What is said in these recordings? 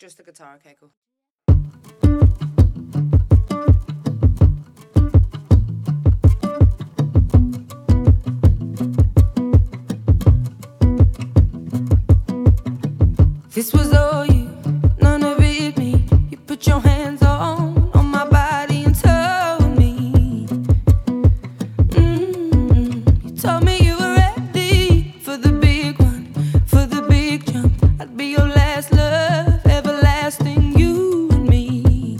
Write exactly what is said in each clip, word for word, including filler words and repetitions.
Just the guitar, okay, cool. This was all you, none of it me. You put your hands on, on my body and told me mm-hmm. You told me you were ready for the big one, for the big jump. I'd be your last love, everlasting, you and me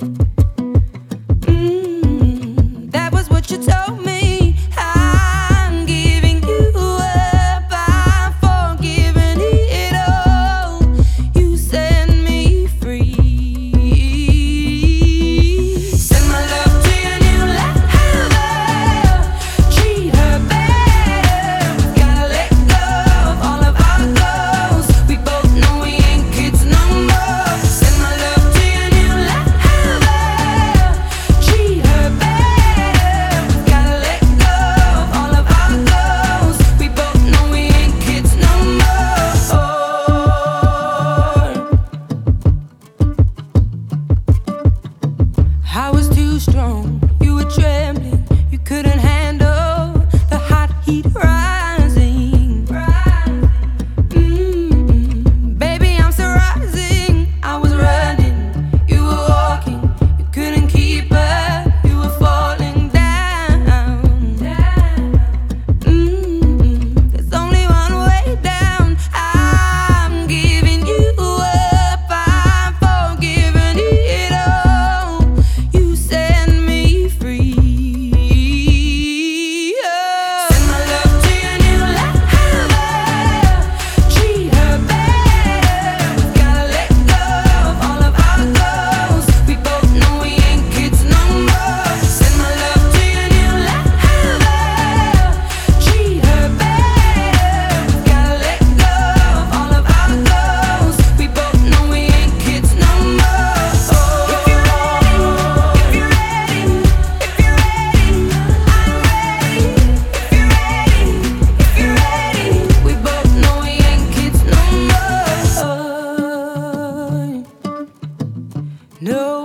mm-hmm. That was what you told me. I'm giving you up, I'm forgiving it all. You set me free. Send my love to your new lover. Treat her better. We've gotta let go of all of our goals. We both know we ain't kids no more. Send my love to your new lover. Treat her better. We've gotta let go of all of our goals. We both know we ain't kids no more. I was too strong, you were trembling, you couldn't handle the hot heat rising. Mm-mm. Baby, I'm still rising. I was running, you were walking, you couldn't keep up, you were falling down. Mm-mm. There's only one way down. I'm giving you up, I'm forgiving it all. You set me free. Oh. Send my love to your new lover. Treat her better. We've gotta let go of all of our goals. We both know we ain't kids no more. Send my love to your new lover. Treat her better. We've gotta let go of all of our goals. We both know we ain't kids no more. If you're ready, if you're ready, if you're ready, I'm ready. If you're ready, if you're ready, we both know we ain't kids no more. No